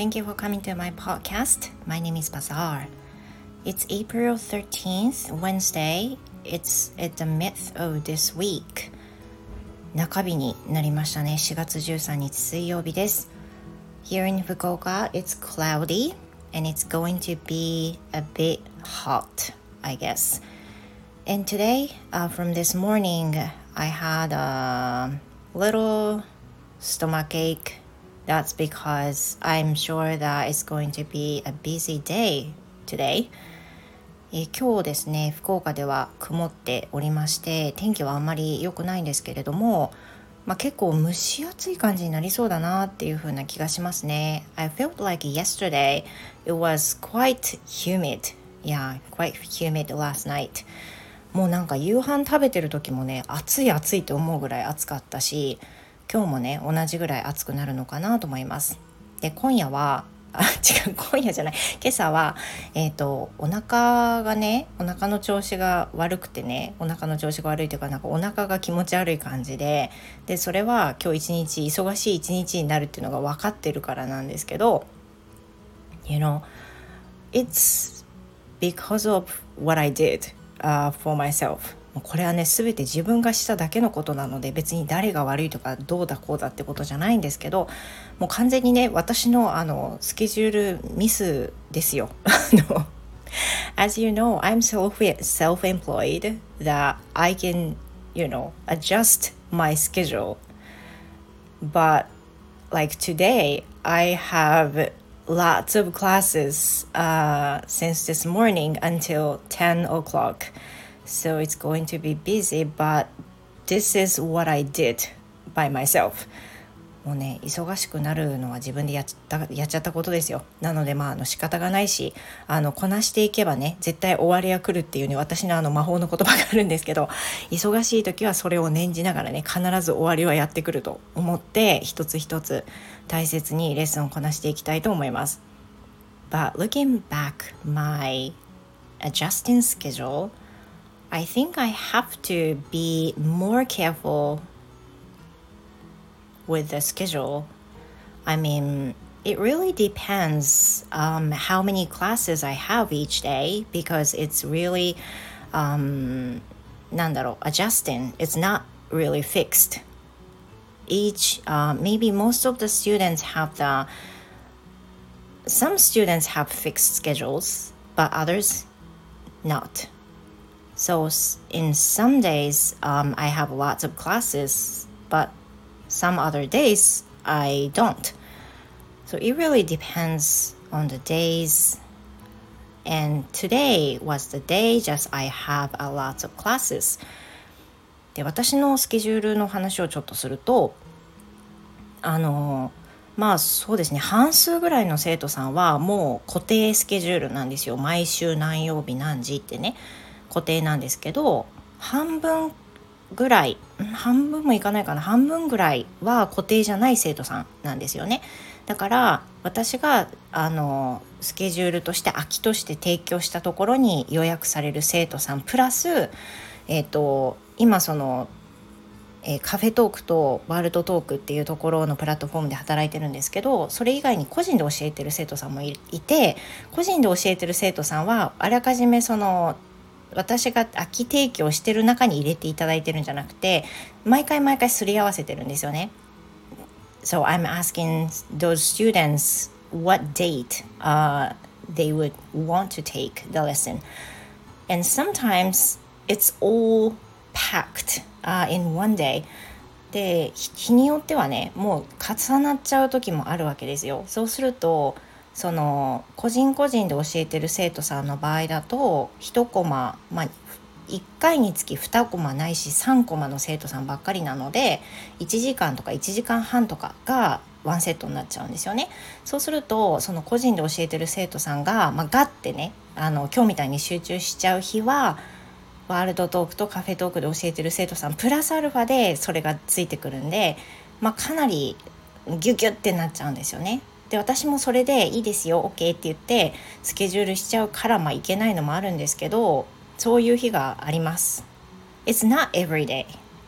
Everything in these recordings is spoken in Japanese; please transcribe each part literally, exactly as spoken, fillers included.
Thank you for coming to my podcast. My name is Bazaar. It's April thirteenth, Wednesday. It's at the midth of this week. 中日になりましたね。しがつじゅうさんにち水曜日です。Here in Fukuoka, it's cloudy and it's going to be a bit hot, I guess. And today, uh, from this morning, I had a little stomachache.That's because I'm sure that it's going to be a busy day today. えー、今日ですね、福岡では曇っておりまして、天気はあんまり良くないんですけれども、まあ、結構蒸し暑い感じになりそうだなっていう風な気がしますね。I felt like yesterday it was quite humid. Yeah, quite humid last night. もうなんか夕飯食べてる時もね、暑い暑いと思うぐらい暑かったし、今日もね同じぐらい暑くなるのかなと思います。で今夜はあ違う今夜じゃない今朝はえっとお腹がねお腹の調子が悪くてねお腹の調子が悪いというかなんかお腹が気持ち悪い感じででそれは今日一日忙しい一日になるっていうのが分かってるからなんですけど You know it's because of what I did、uh, for myselfこれはね全て自分がしただけのことなので別に誰が悪いとかどうだこうだってことじゃないんですけどもう完全にね私のあのスケジュールミスですよAs you know, I'm self, self-employed that I can, you know, adjust my schedule but like today I have lots of classes、uh, since this morning until ten o'clock So it's going to be busy, but this is what I did by myself. もうね、忙しくなるのは自分でやっちゃった、やっちゃったことですよ。なので、まあ、あの仕方がないし、あのこなしていけばね、絶対終わりは来るっていうね、私のあの魔法の言葉があるんですけど、忙しい時はそれを念じながらね、必ず終わりはやってくると思って、一つ一つ大切にレッスンをこなしていきたいと思います。But looking back, my adjusting schedule,I think I have to be more careful with the schedule. I mean, it really depends um, how many classes I have each day because it's really, um, なんだろう, adjusting. It's not really fixed. Each, uh, maybe most of the students have the, some students have fixed schedules, but others not.So in some days, um, I have lots of classes, but some other days I don't. So it really depends on the days. And today was the day just I have a lot of classes. で、私のスケジュールの話をちょっとすると、あの、まあそうですね、半数ぐらいの生徒さんはもう固定スケジュールなんですよ。毎週何曜日何時ってね。固定なんですけど半分ぐらい半分もいかないかな半分ぐらいは固定じゃない生徒さんなんですよね。だから私があのスケジュールとして空きとして提供したところに予約される生徒さんプラス、えーと、今その、えー、カフェトークとワールドトークっていうところのプラットフォームで働いてるんですけどそれ以外に個人で教えてる生徒さんも い, いて個人で教えてる生徒さんはあらかじめその私が空き提供してる中に入れていただいてるんじゃなくて毎回毎回すり合わせてるんですよね。So I'm asking those students what date、uh, they would want to take the lesson. And sometimes it's all packed、uh, in one day. で、日によってはね、もう重なっちゃう時もあるわけですよ。そうするとその個人個人で教えてる生徒さんの場合だといちコマ、まあ、いっかいにつきにコマないしさんコマの生徒さんばっかりなのでいちじかんとかいちじかんはんとかがワンセットになっちゃうんですよね。そうするとその個人で教えてる生徒さんが、まあ、ガッてねあの今日みたいに集中しちゃう日はワールドトークとカフェトークで教えてる生徒さんプラスアルファでそれがついてくるんで、まあ、かなりギュギュってなっちゃうんですよね。で私もそれでいいですよ OK って言ってスケジュールしちゃうからまあいけないのもあるんですけどそういう日があります。 It's not every day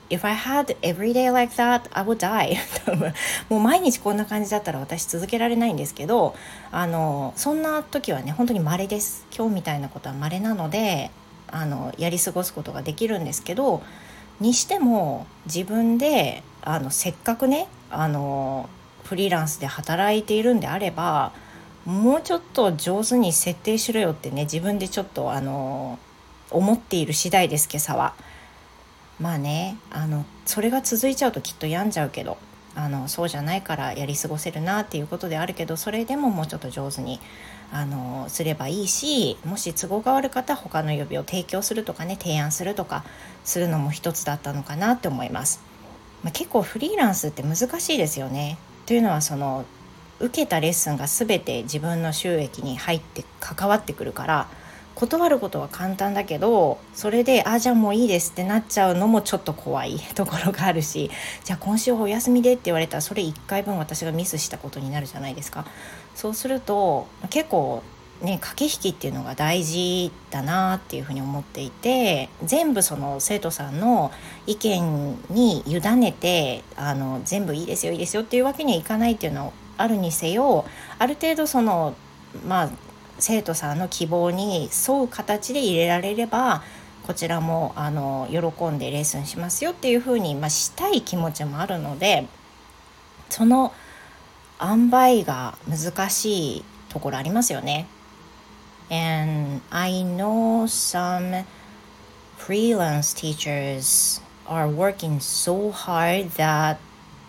If I had every day like that, I would die もう毎日こんな感じだったら私続けられないんですけど、あのそんな時はね本当に稀です。今日みたいなことは稀なので、あのやり過ごすことができるんですけど、にしても自分であのせっかくねあのフリーランスで働いているんであれば、もうちょっと上手に設定しろよってね、自分でちょっとあの思っている次第です。今朝はまあね、あのそれが続いちゃうときっと病んじゃうけど、あのそうじゃないからやり過ごせるなっていうことであるけど、それでももうちょっと上手にあのすればいいし、もし都合が悪かったら他の予備を提供するとかね、提案するとかするのも一つだったのかなって思います。まあ、結構フリーランスって難しいですよね。というのはその受けたレッスンが全て自分の収益に入って関わってくるから、断ることは簡単だけど、それであじゃあもういいですってなっちゃうのもちょっと怖いところがあるし、じゃあ今週はお休みでって言われたらそれいっかいぶん私がミスしたことになるじゃないですか。そうすると結構ね、駆け引きっていうのが大事だなっていうふうに思っていて、全部その生徒さんの意見に委ねてあの全部いいですよいいですよっていうわけにはいかないっていうのはあるにせよ、ある程度そのまあ生徒さんの希望に沿う形で入れられれば、こちらもあの喜んでレッスンしますよっていうふうに、まあ、したい気持ちもあるので、その塩梅が難しいところありますよね。And I know some freelance teachers are working so hard that,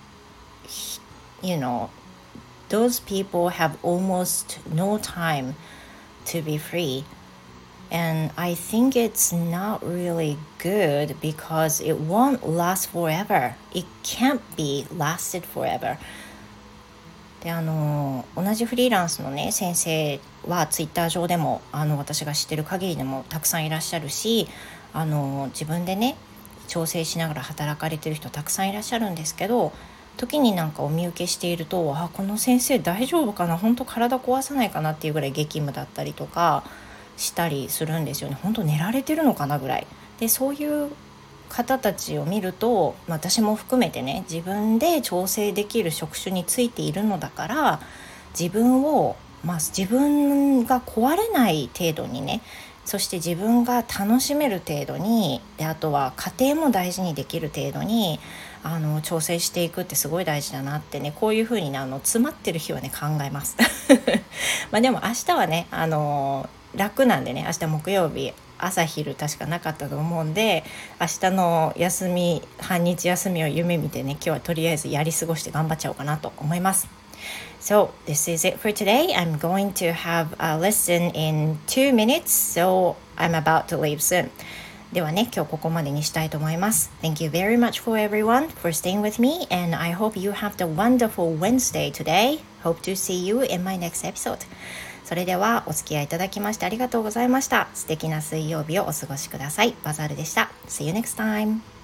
you know, those people have almost no time to be free. And I think it's not really good because it won't last forever. It can't be lasted forever. であの同じフリーランスのね先生はツイッター上でもあの私が知ってる限りでもたくさんいらっしゃるし、あの自分でね調整しながら働かれてる人たくさんいらっしゃるんですけど、時になんかお見受けしていると、あこの先生大丈夫かな、本当体壊さないかなっていうぐらい激務だったりとかしたりするんですよね。本当寝られてるのかなぐらいで、そういう方たちを見ると、私も含めてね、自分で調整できる職種についているのだから、自分を、まあ、自分が壊れない程度にね、そして自分が楽しめる程度に、であとは家庭も大事にできる程度にあの調整していくってすごい大事だなってね、こういう風にねあの詰まってる日はね考えますまあでも明日はねあの楽なんでね、明日木曜日朝昼確かなかったと思うんで、明日の休み半日休みを夢見てね、今日はとりあえずやり過ごして頑張っちゃおうかなと思います。So this is it for today. I'm going to have a lesson in two minutes, so I'm about to leave soon. ではね、今日ここまでにしたいと思います。Thank you very much for everyone for staying with me, and I hope you have the wonderful Wednesday today. Hope to see you in my next episode. それではお付き合いいただきましてありがとうございました。素敵な水曜日をお過ごしください。バザールでした。See you next time.